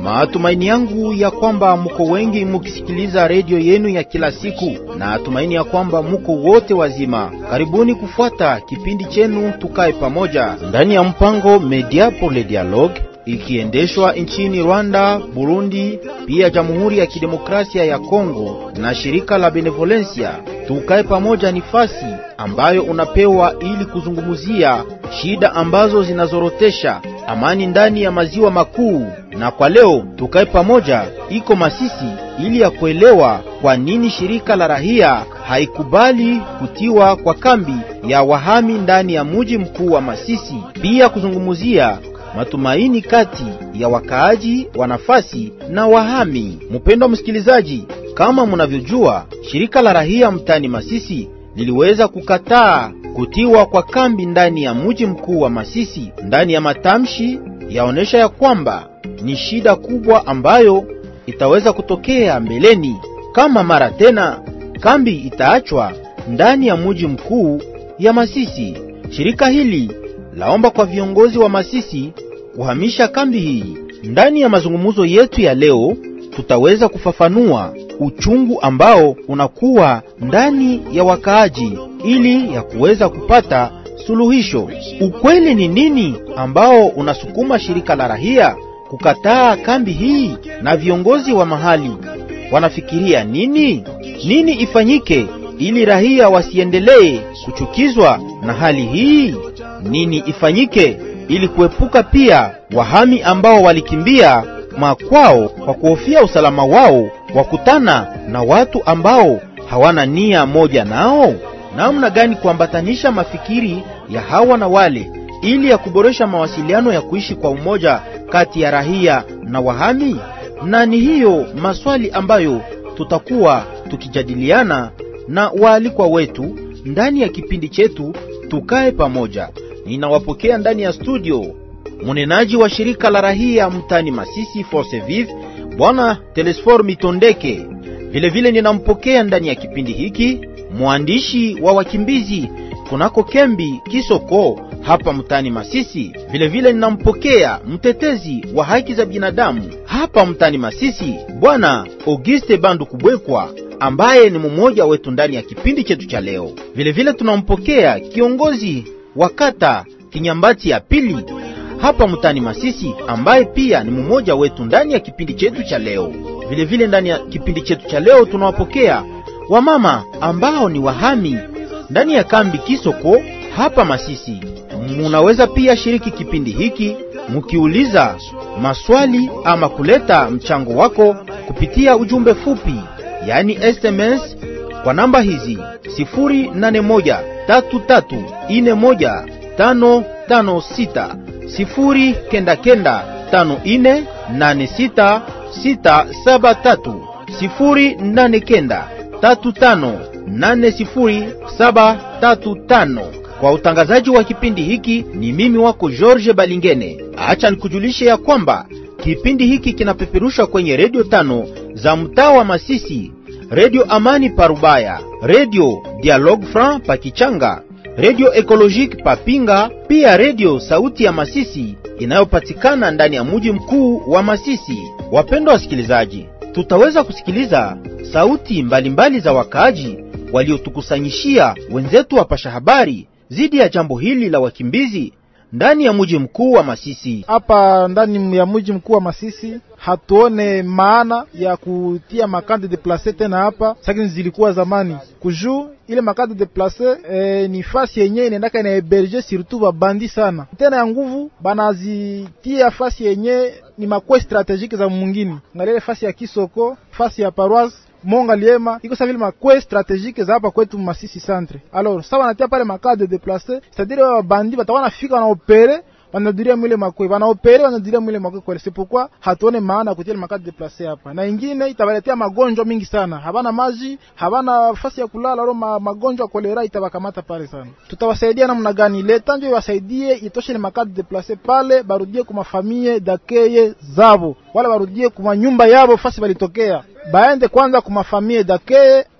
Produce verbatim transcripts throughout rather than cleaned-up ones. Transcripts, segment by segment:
Matumaini yangu ya kwamba muko wengi mukisikiliza redio yenu ya kila siku, na tumaini ya kwamba muko wote wazima. Karibuni kufuata kipindi chenu Tukae Pamoja ndani ya mpango Media pour le Dialogue, ikiendeshwa nchini Rwanda, Burundi, pia Jamhuri ya Kidemokrasia ya Kongo na shirika la Benevolencia. Tukae Pamoja ni fasi ambayo unapewa ili kuzungumzia shida ambazo zinazorotesha amani ndani ya maziwa makuu. Na kwa leo Tukae Pamoja iko Masisi ili ya kuelewa kwa nini shirika la rahia haikubali kutiwa kwa kambi ya wahami ndani ya mji mkuu wa Masisi, pia kuzungumzia matumaini kati ya wakaaji wa nafasi na wahami. Mpendwa msikilizaji, kama mnavyojua, shirika la rahia mtani Masisi liliweza kukataa kutiwa kwa kambi ndani ya mji mkuu wa Masisi. Ndani ya matamshi yaonesha ya kwamba ni shida kubwa ambayo itaweza kutokea mbeleni kama mara tena kambi itaachwa ndani ya mji mkuu ya Masisi. Shirika hili laomba kwa viongozi wa Masisi kuhamisha kambi hii. Ndani ya mazungumzo yetu ya leo tutaweza kufafanua uchungu ambao unakuwa ndani ya wakaaji ili ya kuweza kupata suluhisho. Ukweli ni nini ambao unasukuma shirika la rahia kukataa kambi hii, na viongozi wa mahali wanafikiria nini? Nini ifanyike ili rahia wasiendelee kuchukizwa na hali hii? Nini ifanyike ili kuepuka pia wahami ambao walikimbia makwao kwa kuhofia usalama wao wakutana na watu ambao hawana nia moja nao? Namna gani kuambatanisha mafikiri ya hawa na wale ili ya kuboresha mawasiliano ya kuishi kwa umoja kati ya rahia na wahami? Na ni hiyo maswali ambayo tutakuwa tukijadiliana na waalikwa wetu ndani ya kipindi chetu Tukae Pamoja. Ninawapokea ndani ya studio munenaji wa shirika la rahia mtani Masisi Force Vive, Bwana Telesfor Mitondeke. Vile vile ninampokea ndani ya kipindi hiki mwandishi wa wakimbizi kunako kembi Kisoko hapa mtani Masisi. Vile vile ninampokea mtetezi wa haki za binadamu hapa mtani Masisi, Bwana Auguste Bandu Kubwekwa, ambaye ni mmoja wetu ndani ya kipindi chetu cha leo. Vile vile tunampokea kiongozi wa kata Kinyambati ya pili hapa mtani Masisi, ambaye pia ni mmoja wetu ndani ya kipindi chetu cha leo. Vile vile ndani ya kipindi chetu cha leo tunawapokea wamama ambao ni wahami ndani ya kambi Kisoko hapa Masisi. Munaweza pia shiriki kipindi hiki mukiuliza maswali ama kuleta mchango wako kupitia ujumbe fupi, yani S M S, kwa namba hizi sifuri nane moja tatu tatu ine moja tano tano sita, sifuri kenda kenda tano ine nane sita sita saba tatu, sifuri nane kenda tatu tano nane sifuri saba tatu tano. Kwa utangazaji wa kipindi hiki ni mimi wako George Balingene. Acha nikujulishe ya kwamba kipindi hiki kinapeperusha kwenye redio tano za mtaa wa Masisi: Radio Amani Parubaya, Radio Dialogue Franc Pakichanga, Radio Ecologique Papinga, pia Radio Sauti ya Masisi inayopatikana ndani ya mji mkuu wa Masisi. Wapendwa wasikilizaji, tutaweza kusikiliza sauti mbalimbali mbali za wakaaji waliotukusanyishia wenzetu wa pasha habari zidi ya jambo hili la wakimbizi ndani ya mji mkuu wa Masisi. Hapa ndani ya mji mkuu wa Masisi hatuone maana ya kutia makande de place tena hapa, sakini zilikuwa zamani. Kuju ile makande de place e, ni fasi yenye inaendaka ina héberger surtout ba bandi sana. Tena ya nguvu banazitia fasi yenye ni makwe strategique za mwingine. Ngalele fasi ya Kisoko, fasi ya Paroisse Monga Liema, iko sa vile makwe strategique za hapa kwetu Masisi centre. Alors, ça wanatia pale makade de déplacer, c'est-à-dire wa bandi batawana fika na opérer, wanaduria mwile makwe, wana opérer wanaduria mwile makwe kwa. C'est pourquoi hatuone maana kutia makade déplacer hapa. Na ingine itabaletea magonjwa mingi sana. Habana maji, habana fasi ya kulala, ro magonjwa kolera itabakamata pale sana. Tutawasaidia namna gani? Leta ndio iwasaidie itoshe ni makade déplacer pale, barudie kwa mafamilie d'accueil zabo. Wala barudie kwa nyumba yabo fasi balitokea. Baende kwanza kwa mafamilie d'accueil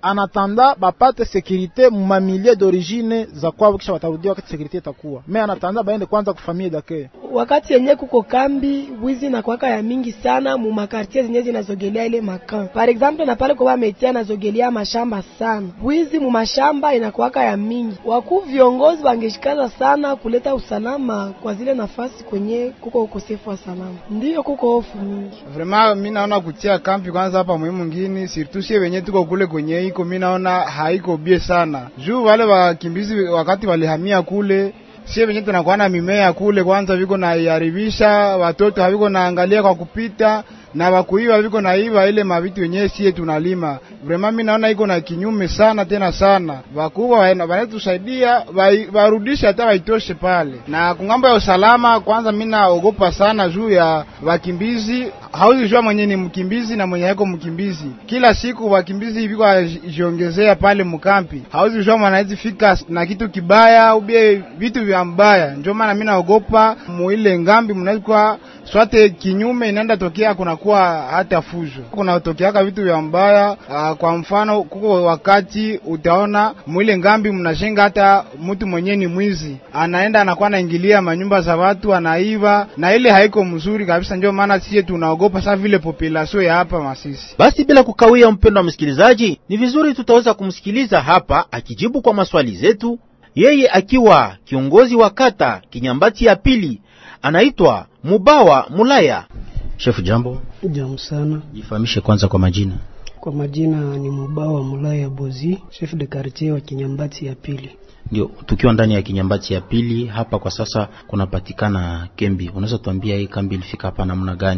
anatanda bapate sécurité mu mamilie d'origine za kwao, kisha watarudia wakati sécurité itakuwa. Mais anatanda baende kwanza kufamia dake. Wakati yenye kuko kambi, wizi na kwaka ya mingi sana mu makartier zenye zinazogelea ile makan. Par exemple na pale kwa metia nazogelea mashamba sana. Wizi mu mashamba inakuwaka ya mingi. Wakuu viongozi wangeshikaza sana kuleta usalama kwa zile nafasi kwenye kuko ukosefu wa salama. Ndio kuko hofu mingi. Vraiment mimi naona kutia kampi kwanza hapa muhimu ngine, surtout sie wenye tuko kule kwenye iko, mimi naona haiko bie sana. Juu wale wakimbizi wakati walihamia kule, sie wenye tunakuwa na mimea kule kwanza viko na iharibisha, watoto haviko naangalia kwa kupita, na wakuiwa viko na iwa ile mavitu wenyewe sie tunalima. Vraiment mimi naona iko na kinyume sana tena sana. Wakubwa wanatusaidia warudisha hata waitoshe pale. Na kungambo ya usalama kwanza mimi naogopa sana juu ya wakimbizi. Hauzi jua mwenye ni mkimbizi na mwenye haiko mkimbizi. Kila siku wakimbizi viko jiongezea pale mkampi. Hauzi jua mwanaweza fika na kitu kibaya au vitu vya mbaya. Ndio maana mimi naogopa muile ngambi mnaweza swate kinyume inaenda tokea kuna kuwa hata fujo. Kuna tokeaka vitu vya mbaya. Uh, kwa mfano kuko wakati utaona mwile ngambi mnashenga hata mtu mwenye ni mwizi anaenda anakuwa anaingilia manyumba za watu anaiba, na ile haiko mzuri kabisa. Ndio maana sisi tunaogopa sasa vile population ya hapa Masisi. Basi bila kukawia, mpendo wa msikilizaji, ni vizuri tutaweza kumsikiliza hapa akijibu kwa maswali zetu, yeye akiwa kiongozi wa kata Kinyambati ya pili, anaitwa Mubawa Mulaya. Chef, jambo. Jambo sana. Jifahamishe kwanza kwa majina. Kwa majina ni Mubawa Mulaya Bozi, chef de quartier wa Kinyambati ya pili. Ndio, tukiwa ndani ya Kinyambati ya pili hapa kwa sasa kunapatikana kembi. Unaweza tuambia hii kambi ilifika hapa namna gani?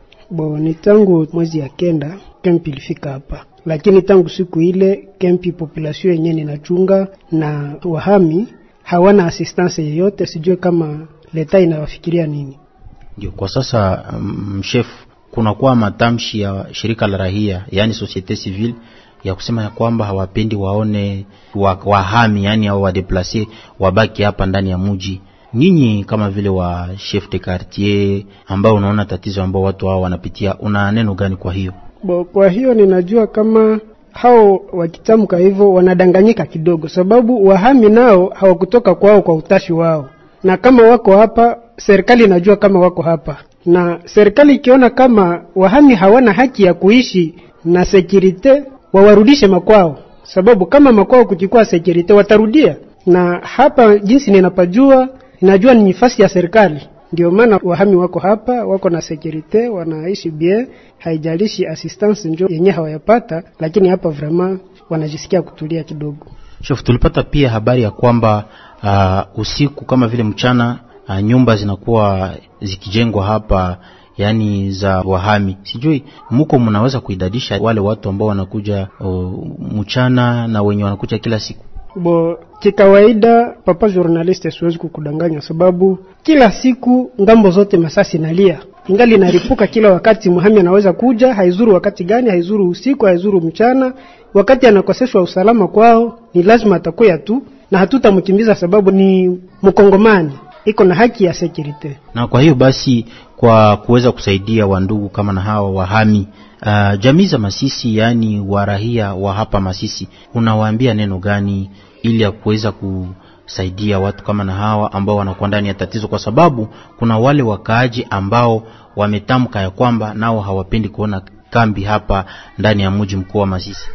Bo, ni tangu mwezi ya kenda kempi ilifika hapa. Lakini tangu siku ile kempi population yenyewe inachunga na wahami hawana assistance yoyote, sijue kama leta inawafikiria nini. Ndio, kwa sasa um, chef, kuna kwa matamshi ya shirika la rahia, yani societe civile, ya kusema ya kwamba hawapendi waone wahami, yani hao wa deplacer wabaki hapa ndani ya mji. Nyinyi kama vile wa chef de quartier ambao unaona tatizo ambao watu hao wanapitia, una neno gani kwa hiyo? Bo, kwa hiyo ninajua kama hao wakitamka hivyo wanadanganyika kidogo, sababu wahami nao hawakutoka kwao kwa utashi wao. Na kama wako hapa, serikali inajua kama wako hapa. Na serikali ikiona kama wahami hawana haki ya kuishi na security, wawarudishe makwao. Sababu kama makwao kuchukua security watarudia. Na hapa jinsi ninapajua, ninajua ni nafasi ya serikali. Ndio maana wahami wako hapa, wako na security, wanaishi bien, haijalishi assistance ndio yenyewe hawayapata, lakini hapa vraiment wanajisikia kutulia kidogo. Chef, tulipata pia habari ya kwamba uh, usiku kama vile mchana uh, nyumba zinakuwa zikijengwa hapa, yani za wahami. Sijui mko mnaweza kuidadisha wale watu ambao wanakuja uh, mchana na wenye wanakuja kila siku? Bo, kikawaida papa journaliste siwezi kukudanganya, sababu kila siku ngambo zote masasi nalia. Ingali inaripuka kila wakati. Muhami anaweza kuja, haizuru wakati gani, haizuru usiku, haizuru mchana. Wakati anakoseshwa usalama kwao, ni lazima atakuya tu, na hatutamkimbiza sababu ni mkongomani, iko na haki ya security. Na kwa hiyo basi, kwa kuweza kusaidia wandugu kama na hawa wahami, uh, jamii za Masisi, yani warahia wa hapa Masisi, unawaambia neno gani ili ya kuweza kusaidia watu kama na hawa ambao wanakuwa ndani ya tatizo? Kwa sababu kuna wale wakaaji ambao wametamka ya kwamba nao hawapendi kuona kambi hapa ndani ya mji mkuu wa Masisi.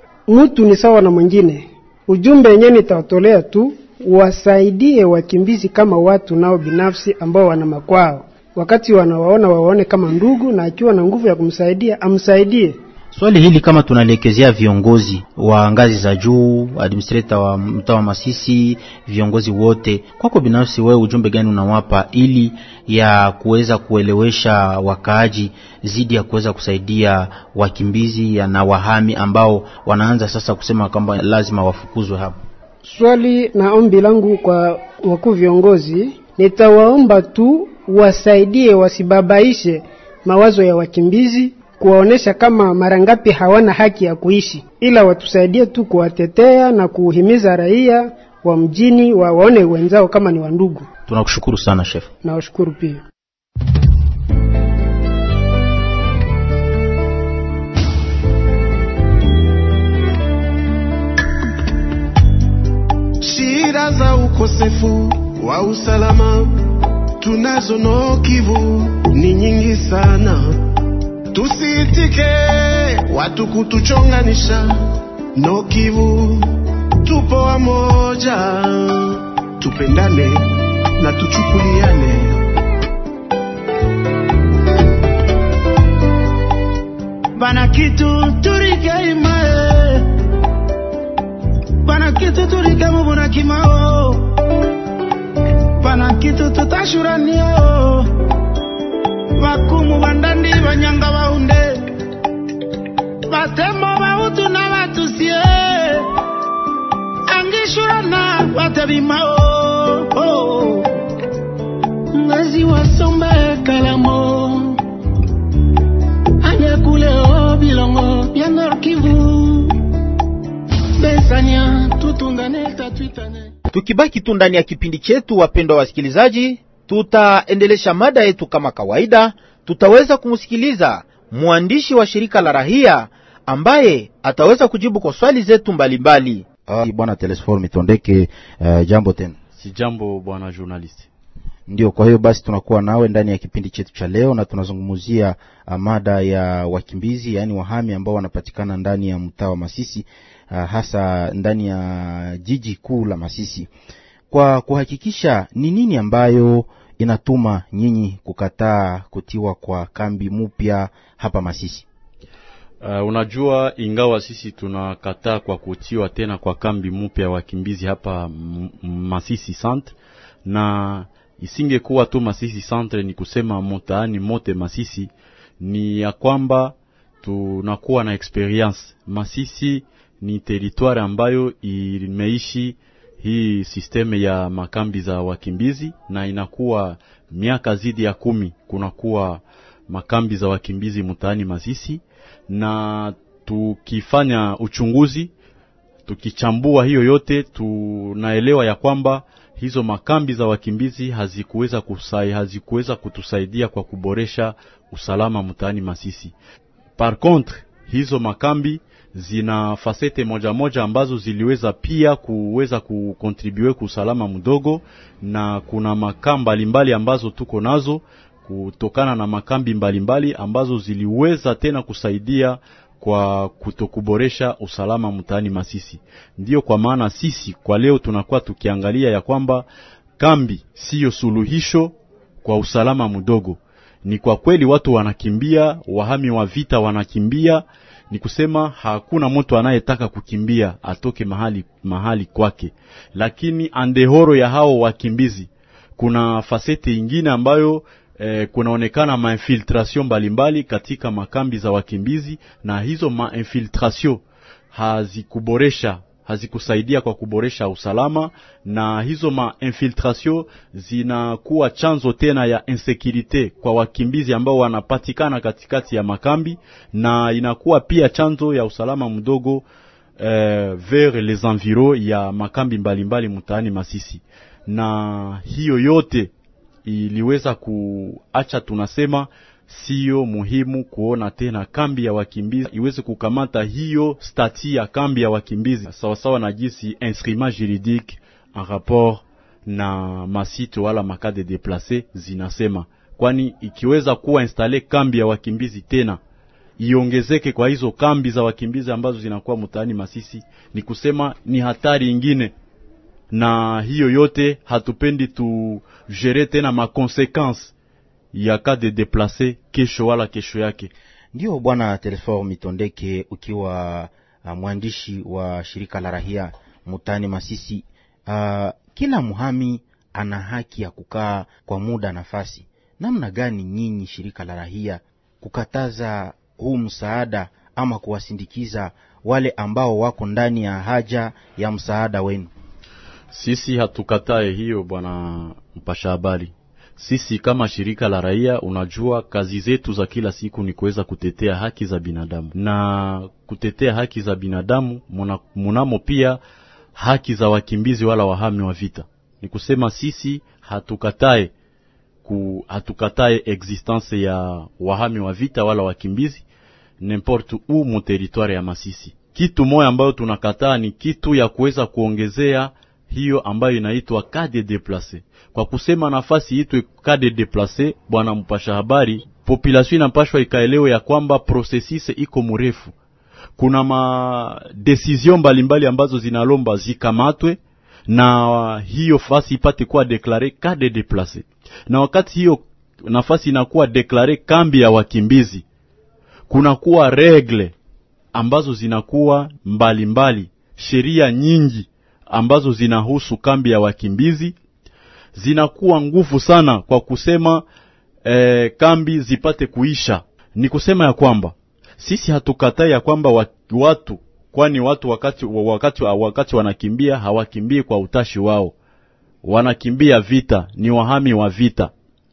Mtu ni sawa na mwingine. Ujumbe yenyewe nitawatolea tu, wasaidie wakimbizi kama watu nao binafsi ambao wana makwao. Wakati wanawaona waone kama ndugu, na akiwa na nguvu ya kumsaidia amsaidie. Swali hili kama tunalekezea viongozi wa ngazi za juu, administrator wa mtaa wa Masisi, viongozi wote, kwako binafsi wewe ujumbe gani unawapa ili ya kuweza kuelewesha wakaaji zidi ya kuweza kusaidia wakimbizi na wahami ambao wanaanza sasa kusema kwamba lazima wafukuzwe hapa? Swali na ombi langu kwa wakuu viongozi, nitawaomba tu wasaidie, wasibabaishe mawazo ya wakimbizi, kuwaonesha kama marangapi hawana haki ya kuishi, ila watusaidie tu kuwatetea na kuhimiza raia wa mjini wa waone wenzao kama ni wandugu. Tunakushukuru sana chef. Na washukuru pia. ukosefu wa usalama tunazo Nord Kivu ni nyingi sana. Tusiitike watu kutuchonganisha. Nord Kivu tupo wamoja, tupendane na tuchukuliane. Bana kitu turike imae, bana kitu turike mubuna kimao, bana kitu tutashuranio, wakumu bandandi banyanga waunde, batemo bautu na batusie, angishurana watabimao, oh. Ngazi wasombe kalamo, anya kuleo bilongo ya Nord Kivu, besanya tutungane tatuitane. Tukibaki tu ndani ya kipindi chetu, wapendwa wasikilizaji, tutaendelesha mada yetu kama kawaida. Tutaweza kumsikiliza mwandishi wa shirika la rahia ambaye ataweza kujibu kwa swali zetu mbalimbali. Ah, bwana Telesfor Mitondeke, uh, jambo tena. Si jambo bwana journalist. Ndio, kwa hiyo basi tunakuwa nawe ndani ya kipindi chetu cha leo na tunazungumzia uh, mada ya wakimbizi, yani wahami ambao wanapatikana ndani ya mtaa wa Masisi, uh, hasa ndani ya jiji kuu la Masisi. Kwa kuhakikisha ni nini ambayo inatuma nyinyi kukataa kutiwa kwa kambi mpya hapa Masisi? Uh, unajua ingawa sisi tunakataa kwa kutiwa tena kwa kambi mpya wakimbizi hapa Masisi Centre, na isingekuwa tu Masisi Centre, ni kusema mtaani mote Masisi, ni ya kwamba tunakuwa na experience. Masisi ni territoire ambayo imeishi hii sisteme ya makambi za wakimbizi, na inakuwa miaka zidi ya kumi kunakuwa makambi za wakimbizi mtaani Masisi. Na tukifanya uchunguzi, tukichambua hiyo yote, tunaelewa ya kwamba hizo makambi za wakimbizi hazikuweza kusai hazikuweza kutusaidia kwa kuboresha usalama mtaani Masisi. Par contre, hizo makambi zina fasete moja moja ambazo ziliweza pia kuweza kukontribue kwa usalama mdogo, na kuna makambi mbalimbali ambazo tuko nazo kutokana na makambi mbalimbali ambazo ziliweza tena kusaidia kwa kutokuboresha usalama mtaani Masisi. Ndiyo kwa maana sisi kwa leo tunakuwa tukiangalia ya kwamba kambi siyo suluhisho kwa usalama mdogo. Ni kwa kweli watu wanakimbia, wahami wa vita wanakimbia, ni kusema hakuna mtu anayetaka kukimbia atoke mahali mahali kwake. Lakini andehoro ya hao wakimbizi kuna fasete ingine ambayo Eh, kunaonekana ma-infiltration mbalimbali katika makambi za wakimbizi, na hizo ma-infiltration hazikuboresha hazikusaidia kwa kuboresha usalama, na hizo ma-infiltration zinakuwa chanzo tena ya insecurity kwa wakimbizi ambao wanapatikana katikati ya makambi, na inakuwa pia chanzo ya usalama mdogo eh, vers les environs ya makambi mbalimbali mtaani Masisi. Na hiyo yote iliweza kuacha tunasema sio muhimu kuona tena kambi ya wakimbizi iweze kukamata hiyo stati ya kambi ya wakimbizi sawa sawa na jinsi instrument juridique en rapport na masito wala makade déplacé zinasema. Kwani ikiweza kuwa installe kambi ya wakimbizi tena iongezeke kwa hizo kambi za wakimbizi ambazo zinakuwa mtaani Masisi, ni kusema ni hatari ingine. Na hiyo yote hatupendi tu gérer tena ma conséquences ya cas de déplacer kesho wala kesho yake. Ndio bwana Telesfor Mitondeke, ukiwa uh, mwandishi wa shirika la rahia mtaani Masisi, uh, kila muhami ana haki ya kukaa kwa muda nafasi. Namna gani nyinyi shirika la rahia kukataza huu msaada ama kuwasindikiza wale ambao wako ndani ya haja ya msaada wenu? Sisi hatukatae hiyo bwana mpasha habari. Sisi kama shirika la raia, unajua kazi zetu za kila siku ni kuweza kutetea haki za binadamu. Na kutetea haki za binadamu muna, munamo pia haki za wakimbizi wala wahami wa vita. Ni kusema sisi hatukatae ku hatukatae existence ya wahami wa vita wala wakimbizi n'importe où mu territoire ya Masisi. Kitu moja ambayo tunakataa ni kitu ya kuweza kuongezea hiyo ambayo inaitwa cas de déplacé. Kwa kusema nafasi itwe cas de déplacé, bwana mpasha habari, population inapashwa ikaelewe ya kwamba processus iko mrefu. Kuna ma decision mbalimbali ambazo zinalomba zikamatwe na hiyo fasi ipate kuwa deklare cas de déplacé. Na wakati hiyo nafasi inakuwa deklare kambi ya wakimbizi, kuna kuwa regle ambazo zinakuwa mbalimbali, sheria nyingi ambazo zinahusu kambi ya wakimbizi zinakuwa nguvu sana kwa kusema eh, kambi zipate kuisha. Ni kusema ya kwamba sisi hatukatai ya kwamba watu, kwani watu wakati wakati wakati wanakimbia hawakimbie kwa utashi wao, wanakimbia vita, ni wahami wa vita.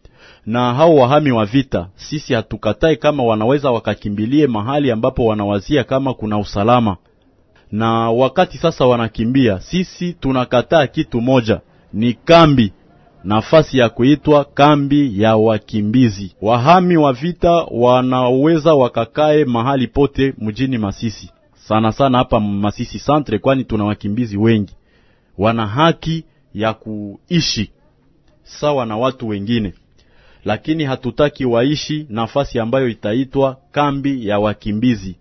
Na hao wahami wa vita sisi hatukatai kama wanaweza wakakimbilie mahali ambapo wanawazia kama kuna usalama. Na wakati sasa wanakimbia, sisi tunakataa kitu moja, ni kambi, nafasi ya kuitwa kambi ya wakimbizi. Wahami wa vita wanaweza wakakae mahali pote mjini Masisi, sana sana hapa Masisi Centre, kwani tuna wakimbizi wengi. Wana haki ya kuishi sawa na watu wengine, lakini hatutaki waishi nafasi ambayo itaitwa kambi ya wakimbizi,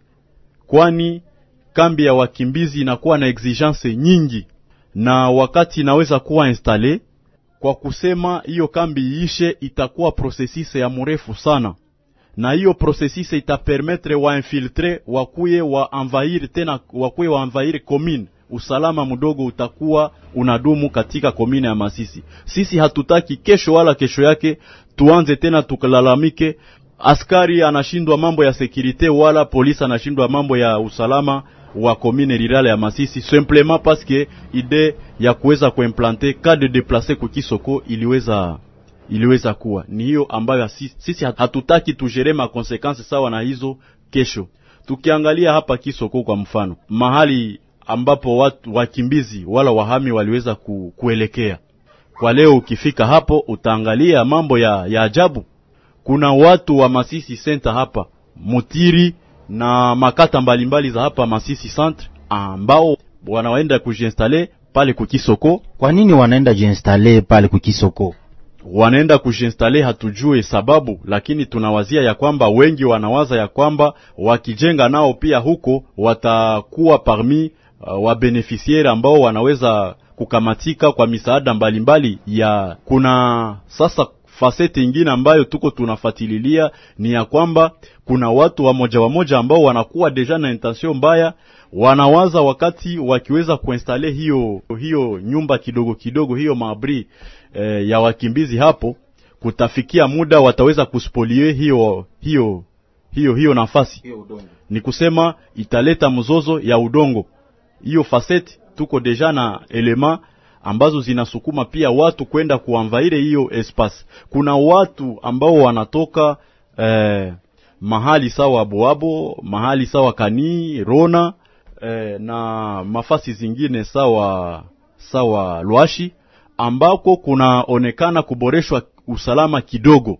kwani kambi ya wakimbizi inakuwa na exigence nyingi, na wakati inaweza kuwa installe, kwa kusema hiyo kambi iishe itakuwa processus ya mrefu sana, na hiyo processus itapermettre wa infiltre wakuye wa envahir tena wakuye wa envahir commune. Usalama mdogo utakuwa unadumu katika commune ya Masisi. Sisi hatutaki kesho wala kesho yake tuanze tena tukalalamike askari anashindwa mambo ya securite wala polisi anashindwa mambo ya usalama wa commune rurale ya Masisi, simplement parce que ide ya kuweza kuimplanter cas de déplacer kwa Kisoko iliweza iliweza kuwa ni hiyo ambayo sisi, sisi hatutaki tujere ma consequences sawa na hizo kesho. Tukiangalia hapa Kisoko kwa mfano, mahali ambapo watu wakimbizi wala wahami waliweza ku, kuelekea kwa leo, ukifika hapo utaangalia mambo ya, ya ajabu. Kuna watu wa Masisi Center hapa Mutiri na makata mbalimbali za hapa Masisi Centre ambao wanaenda kujiinstaller pale kukisoko. Kwa nini wanaenda jiinstaller pale kukisoko? Wanaenda kujiinstaller hatujue sababu, lakini tunawazia ya kwamba wengi wanawaza ya kwamba wakijenga nao pia huko watakuwa parmi uh, wa beneficiaire ambao wanaweza kukamatika kwa misaada mbalimbali ya. Kuna sasa fasete ingine ambayo tuko tunafatililia ni ya kwamba kuna watu wa moja wa moja ambao wanakuwa deja na intention mbaya, wanawaza wakati wakiweza kuinstale hiyo hiyo nyumba kidogo kidogo, hiyo maabri eh, ya wakimbizi hapo, kutafikia muda wataweza kuspolie hiyo hiyo hiyo hiyo nafasi hiyo. Ni kusema italeta mzozo ya udongo. Hiyo fasete tuko deja na elema ambazo zinasukuma pia watu kwenda kuanvaire hiyo espace. Kuna watu ambao wanatoka eh, mahali sawa Boabo, mahali sawa Kani, Rona eh, na mafasi zingine sawa sawa Lwashi, ambako kunaonekana kuboreshwa usalama kidogo.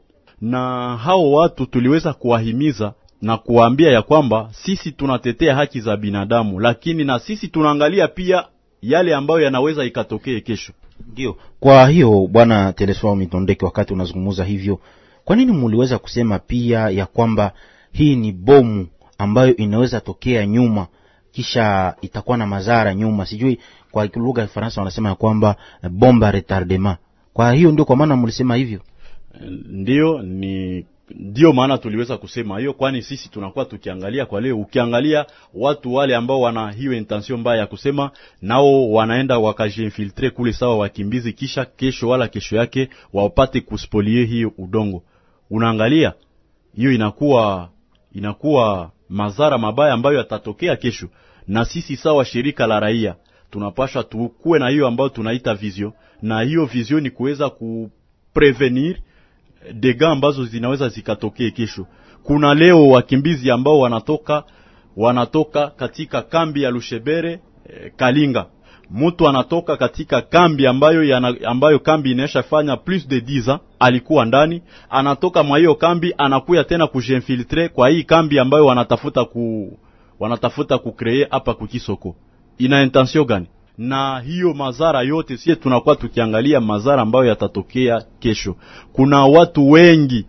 Na hao watu tuliweza kuwahimiza na kuwaambia ya kwamba sisi tunatetea haki za binadamu, lakini na sisi tunaangalia pia yale ambayo yanaweza ikatokee kesho. Ndio. Kwa hiyo bwana Telesfo Mitondeke, wakati unazungumza hivyo, kwa nini muliweza kusema pia ya kwamba hii ni bomu ambayo inaweza tokea nyuma kisha itakuwa na madhara nyuma? Sijui kwa lugha ya Faransa wanasema ya kwamba bomba retardement. Kwa hiyo ndio kwa maana mulisema hivyo? Ndio, ni ndio maana tuliweza kusema hiyo, kwani sisi tunakuwa tukiangalia kwa leo. Ukiangalia watu wale ambao wana hiyo intention mbaya ya kusema nao wanaenda wakajinfiltre kule sawa wakimbizi, kisha kesho wala kesho yake wapate kuspolie hiyo udongo. Unaangalia hiyo inakuwa inakuwa madhara mabaya ambayo yatatokea kesho. Na sisi sawa shirika la raia tunapaswa tukue na hiyo ambayo tunaita vision, na hiyo vision ni kuweza kuprevenir dega ambazo zinaweza zikatokea kesho. Kuna leo wakimbizi ambao wanatoka wanatoka katika kambi ya Lushebere eh, Kalinga. Mtu anatoka katika kambi ambayo yana, ambayo kambi inashafanya plus de dix ans alikuwa ndani, anatoka mwa hiyo kambi anakuya tena kujinfiltre kwa hii kambi ambayo wanatafuta ku wanatafuta kucreate hapa kukisoko. Ina intention gani? na hiyo madhara yote sisi tunakuwa tukiangalia madhara ambayo yatatokea kesho. Kuna watu wengi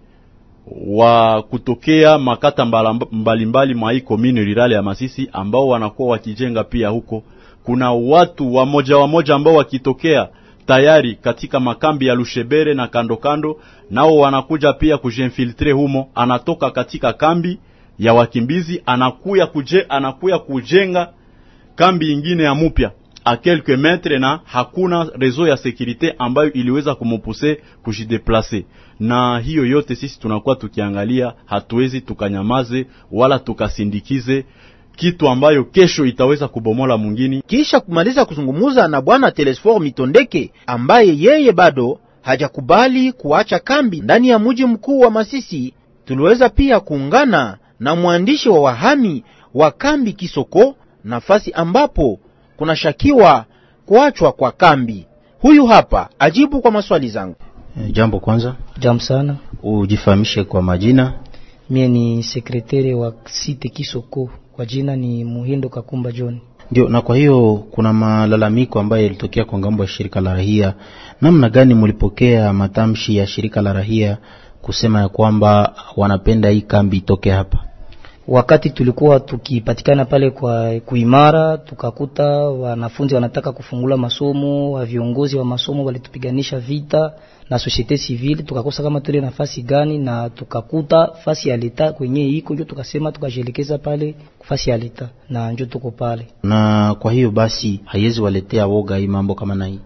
wa kutokea makata mbalimbali mwa hii commune rurale ya Masisi ambao wanakuwa wakijenga pia huko. Kuna watu wa moja wa moja ambao wakitokea tayari katika makambi ya Lushebere na kando kando, nao wanakuja pia kujinfiltre humo. Anatoka katika kambi ya wakimbizi anakuya kuje anakuya kujenga kambi ingine ya mupya a quelques metres, na hakuna rezo ya sécurité ambayo iliweza kumupuse kujideplacer. Na hiyo yote sisi tunakuwa tukiangalia, hatuwezi tukanyamaze wala tukasindikize kitu ambayo kesho itaweza kubomola mwingine. Kisha kumaliza kuzungumuza na bwana Telesfor Mitondeke ambaye yeye bado hajakubali kuacha kambi ndani ya mji mkuu wa Masisi, tuliweza pia kuungana na mwandishi wa wahami wa kambi Kisoko, nafasi ambapo kuna shakiwa kuachwa kwa kambi. Huyu hapa ajibu kwa maswali zangu. E, jambo kwanza. Jambo sana. Ujifahamishe kwa majina. Mie ni sekretari wa site Kisoko, kwa jina ni Muhindo Kakumba John. Ndio, na kwa hiyo kuna malalamiko ambayo yalitokea kwa ngambo ya shirika la rahia. Namna gani mlipokea matamshi ya shirika la rahia kusema ya kwamba wanapenda hii kambi itoke hapa? Wakati tulikuwa tukipatikana pale kwa kuimara, tukakuta wanafunzi wanataka kufungula masomo, wa viongozi wa masomo walitupiganisha vita na societe civile, tukakosa kama tule nafasi gani, na tukakuta fasi ya leta kwenye iko, ndio tukasema tukajelekeza pale fasi ya leta, na ndio tuko pale. Na kwa hiyo basi haiwezi waletea woga hii mambo kama na hii?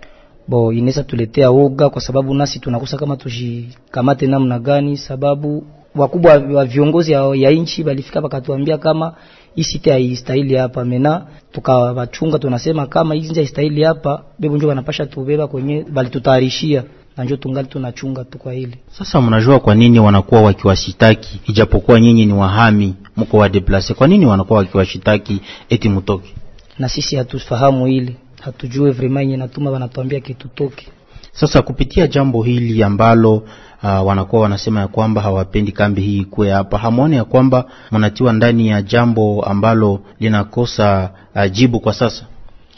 Bo, inaweza tuletea woga kwa sababu nasi tunakosa kama tujikamate namna gani, sababu wakubwa wa viongozi ya, ya inchi balifika bakatuambia kama isite haistahili hapa. Mena tukawachunga, tunasema kama hizi haistahili hapa, bebo njoo wanapasha tubeba kwenye bali tutayarishia, na njoo tungali tunachunga tu kwa hili. Sasa mnajua kwa nini wanakuwa wakiwashitaki ijapokuwa nyinyi ni wahami mko wa deplace? Kwa nini wanakuwa wakiwashitaki eti mtoke? Na sisi hatufahamu hili, hatujue vraiment yenye natuma wanatuambia kitu toke. Sasa kupitia jambo hili ambalo uh, wanakuwa wanasema ya kwamba hawapendi kambi hii ikuwe hapa, hamuone ya kwamba mnatiwa ndani ya jambo ambalo linakosa uh, jibu kwa sasa?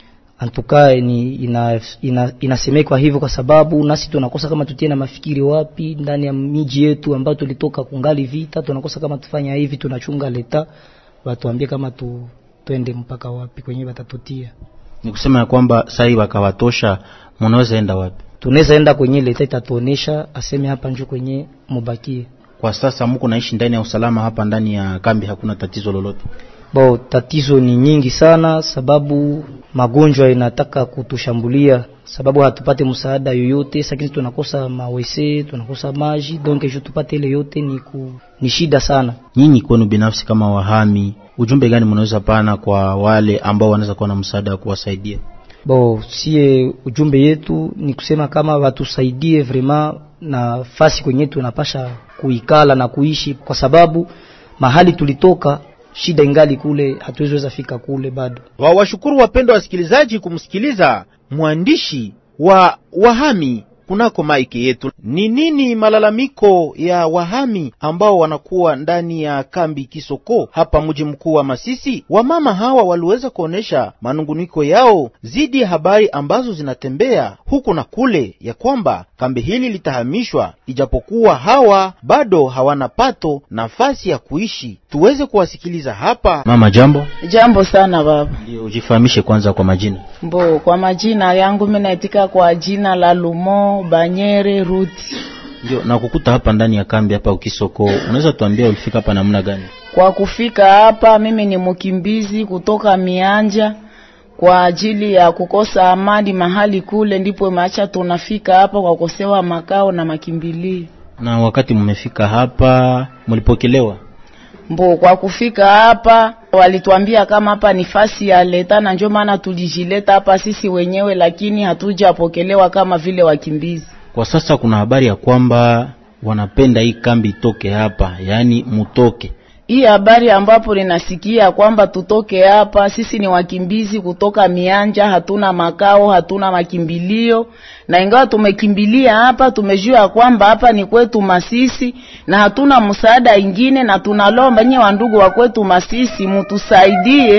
Antuka ni ina, ina, inasemekwa hivyo kwa sababu nasi tunakosa kama tutie na mafikiri wapi ndani ya miji yetu ambayo tulitoka kungali vita. Tunakosa kama tufanya hivi, tunachunga leta watuambie kama tu twende mpaka wapi kwenye watatutia. Ni kusema ya kwamba sai wakawatosha, mnaweza enda wapi? Tunaweza enda kwenye leta itatuonesha, aseme hapa njoo kwenye mubakie. Kwa sasa mko naishi ndani ya usalama hapa ndani ya kambi, hakuna tatizo lolote? Bo, tatizo ni nyingi sana, sababu magonjwa inataka kutushambulia, sababu hatupate msaada yoyote. Sasa tunakosa mawese, tunakosa maji, donc je tupate ile yote ni ku, ni shida sana. Nyinyi kwenu binafsi kama wahami, ujumbe gani mnaweza pana kwa wale ambao wanaweza kuwa na msaada wa kuwasaidia? Bo, sie ujumbe yetu ni kusema kama watusaidie vraiment na fasi kwenye tunapasha kuikala na kuishi, kwa sababu mahali tulitoka shida ingali kule, hatuweza fika kule bado. Wa washukuru wapendwa wasikilizaji kumsikiliza mwandishi wa wahami kunako maiki yetu. Ni nini malalamiko ya wahami ambao wanakuwa ndani ya kambi Kisoko hapa mji mkuu wa Masisi? Wamama hawa waliweza kuonesha manunguniko yao zidi ya habari ambazo zinatembea huku na kule ya kwamba kambi hili litahamishwa, ijapokuwa hawa bado hawana pato nafasi ya kuishi. Tuweze kuwasikiliza hapa. Mama, jambo. Jambo sana baba. Ndio, ujifahamishe kwanza kwa majina. Mbo, kwa majina yangu mimi naitika kwa jina la Lumo Banyere Ruti. Ndio, na kukuta hapa ndani ya kambi hapa Ukisoko, unaweza tuambia ulifika hapa namna gani? Kwa kufika hapa mimi ni mkimbizi kutoka Mianja kwa ajili ya kukosa amani mahali kule, ndipo maacha tunafika hapa kwa kukosewa makao na makimbilio. Na wakati mmefika hapa mlipokelewa? Mbo, kwa kufika hapa walituambia kama hapa ni fasi ya leta, na ndio maana tulijileta hapa sisi wenyewe, lakini hatujapokelewa kama vile wakimbizi. Kwa sasa kuna habari ya kwamba wanapenda hii kambi itoke hapa, yani mutoke. Hii habari ambapo ninasikia kwamba tutoke hapa, sisi ni wakimbizi kutoka Mianja, hatuna makao, hatuna makimbilio, na ingawa tumekimbilia hapa tumejua kwamba hapa ni kwetu Masisi na hatuna msaada ingine, na tunalomba nyinyi wandugu wa kwetu Masisi mtusaidie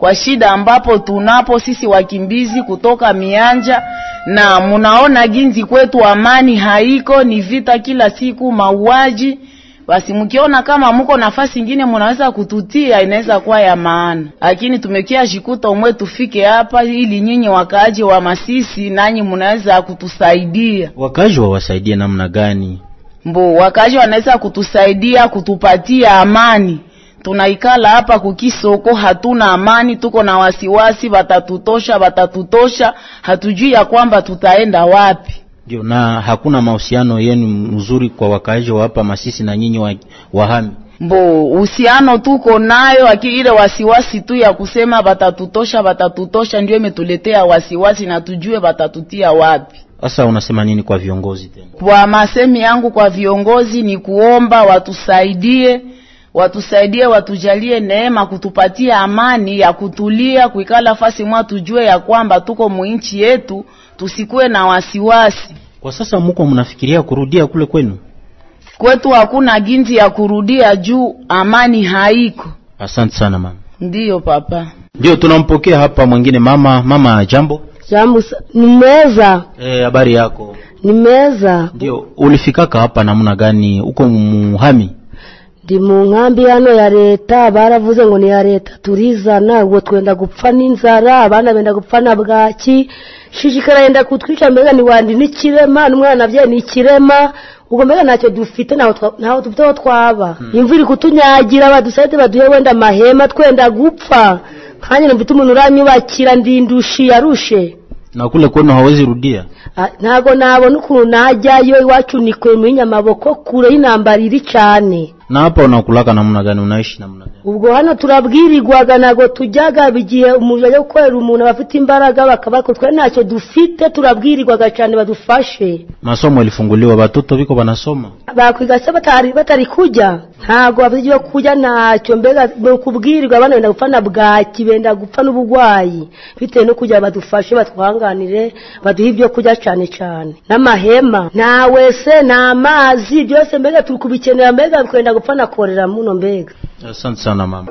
kwa shida ambapo tunapo sisi wakimbizi kutoka mianja, na munaona ginzi kwetu amani haiko, ni vita kila siku, mauaji. Basi mkiona kama mko nafasi nyingine mnaweza kututia, inaweza kuwa ya maana. Lakini tumekia jikuta umwe tufike hapa ili nyinyi wakaaji wa Masisi nanyi mnaweza kutusaidia. Wakaaji wawasaidie namna gani? Mbo wakaaji wanaweza kutusaidia kutupatia amani. Tunaikala hapa kukisoko, hatuna amani, tuko na wasiwasi, watatutosha watatutosha, hatujui ya kwamba tutaenda wapi. Ndio, na hakuna mahusiano yenu mzuri kwa wakaaji wa hapa Masisi na nyinyi wa, wahami? Mbo uhusiano tuko nayo, lakini ile wasiwasi tu ya kusema watatutosha watatutosha ndio imetuletea wasiwasi na tujue watatutia wapi. Sasa unasema nini kwa viongozi tena? Kwa masemi yangu kwa viongozi ni kuomba watusaidie, watusaidie watujalie neema kutupatia amani ya kutulia, kuikala fasi mwa tujue ya kwamba tuko muinchi yetu, tusikue na wasiwasi. Kwa sasa mko mnafikiria kurudia kule kwenu? Kwetu hakuna ginzi ya kurudia juu amani haiko. Asante sana mama. Ndiyo papa. Ndio tunampokea hapa mwingine mama. Mama jambo. Jambo, nimeza. Eh, habari yako? Nimeza. Ndio, ulifikaka hapa namna gani? Uko muhami? Ndi mu nkambi hano ya leta, baravuze ngo ni ya leta turizana, uwo twenda gupfa n'inzara, abana benda gupfa na bwaki, shishikara yenda kutwica, mbega ni wandi n'ikirema, n'umwana bye ni ikirema, ubwo mbega ntacyo dufite naho naho dufite twaba. Hmm. Imvura kutunyagira, badusaite baduhe wenda mahema, twenda gupfa. Kanye nambita umuntu uranyubakira ndindushi yarushe. Na kule kwenu hawezi rudia? Ntago nabona ukuntu najyayo, iwacu nikwe mu nyamaboko kure y'intambara iri cyane. Na hapa unakulaka namna gani, unaishi namna gani? Ubwo hano turabwirirwaga nago tujyaga bigiye umuntu ajya gukorera umuntu bafite imbaraga bakabako, twe ntacyo dufite, turabwirirwaga cyane badufashe. Masomo yalifunguliwa, batoto biko banasoma? Bakwiga se batari batari kujya, ntago abigiye kujya ntacyo, mbega kubwirirwa abana benda gupfana bwaki, benda gupfa n'ubugwayi, bitewe no kujya badufashe batwanganire, baduha ibyo kujya cyane cyane n'amahema, nta wese na mazi, byose mbega turi kubikenera, mbega kwenda gupfana korera muno mbega. Asante sana mama.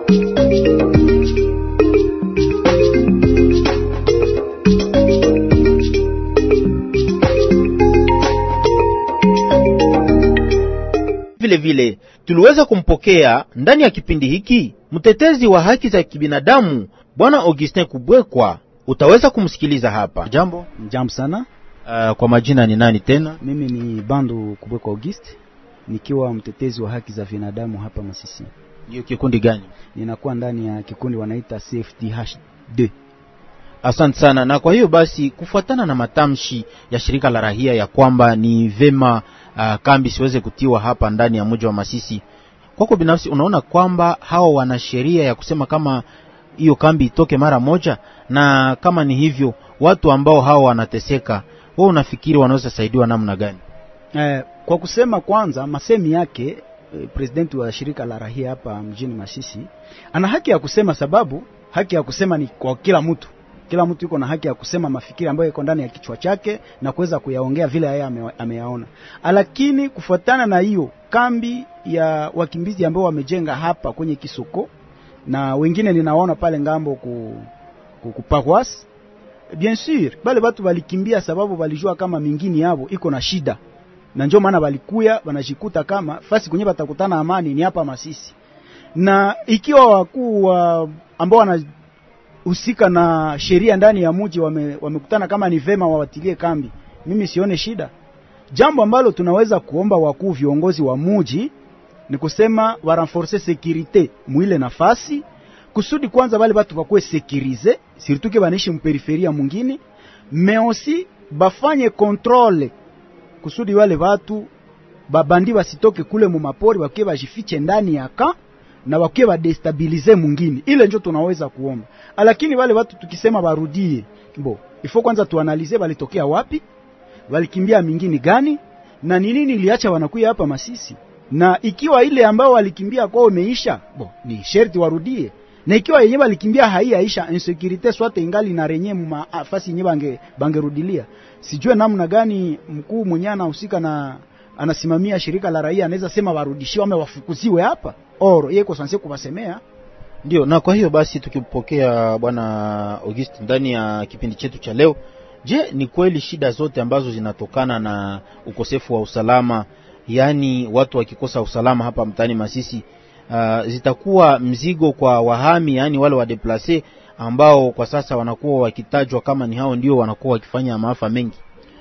Vile vile tuliweza kumpokea ndani ya kipindi hiki mtetezi wa haki za kibinadamu Bwana Augustin Kubwekwa. Utaweza kumsikiliza hapa. Jambo. Jambo sana. Uh, kwa majina ni nani tena? Mimi ni Bandu Kubwekwa Auguste, nikiwa mtetezi wa haki za binadamu hapa Masisi. Hiyo kikundi gani? Ninakuwa ndani ya kikundi wanaita C F D H D. Asante sana. Na kwa hiyo basi, kufuatana na matamshi ya shirika la rahia ya kwamba ni vema uh, kambi siweze kutiwa hapa ndani ya mji wa Masisi, kwako binafsi unaona kwamba hao wana sheria ya kusema kama hiyo kambi itoke mara moja? Na kama ni hivyo, watu ambao hao wanateseka, wewe unafikiri wanaweza saidiwa namna gani? Eh, kwa kusema kwanza masemi yake eh, presidenti wa shirika la rahia hapa mjini Masisi ana haki ya kusema, sababu haki ya kusema ni kwa kila mtu. Kila mtu yuko na haki ya kusema mafikiri ambayo yako ndani ya kichwa chake na kuweza kuyaongea vile yeye ame, ameyaona. Lakini kufuatana na hiyo kambi ya wakimbizi ambao wamejenga hapa kwenye Kisoko na wengine ninaona pale ngambo ku kupakwas, bien sûr bale watu walikimbia sababu walijua kama mingini yao iko na shida, na njoo maana walikuya wanajikuta kama fasi kwenye batakutana amani ni hapa Masisi. Na ikiwa wakuu wa ambao wanahusika na sheria ndani ya mji wame, wamekutana kama ni vema wawatilie kambi, mimi sione shida. Jambo ambalo tunaweza kuomba wakuu viongozi wa mji ni kusema wa renforcer sécurité muile nafasi, kusudi kwanza wale watu wakuwe sécurisé, surtout ke banaishi mperiferia mwingine, mais aussi bafanye contrôle kusudi wale watu babandi basitoke kule mu mapori, wakiwe bajifiche ndani ya ka na wakiwe ba destabilize mwingine. Ile ndio tunaweza kuomba. Lakini wale watu tukisema barudie, bo ifo kwanza tuanalize walitokea wapi, walikimbia mingine gani, na nini iliacha wanakuja hapa Masisi. Na ikiwa ile ambao walikimbia kwao imeisha, bo ni sherti warudie. Na ikiwa yenyewe walikimbia haiyaisha, insecurity swate ingali na renye mafasi yenyewe bange bangerudilia. Sijue namna gani mkuu mwenyewe anahusika na anasimamia shirika la raia anaweza sema warudishiwe ama wafukuziwe hapa. Oro yeye kwa sanse kuwasemea Ndio, na kwa hiyo basi tukipokea bwana Auguste ndani ya kipindi chetu cha leo, je, ni kweli shida zote ambazo zinatokana na ukosefu wa usalama, yani watu wakikosa usalama hapa mtaani Masisi, uh, zitakuwa mzigo kwa wahami, yani wale wa deplace ambao kwa sasa wanakuwa wakitajwa kama ni hao ndio wanakuwa wakifanya maafa mengi?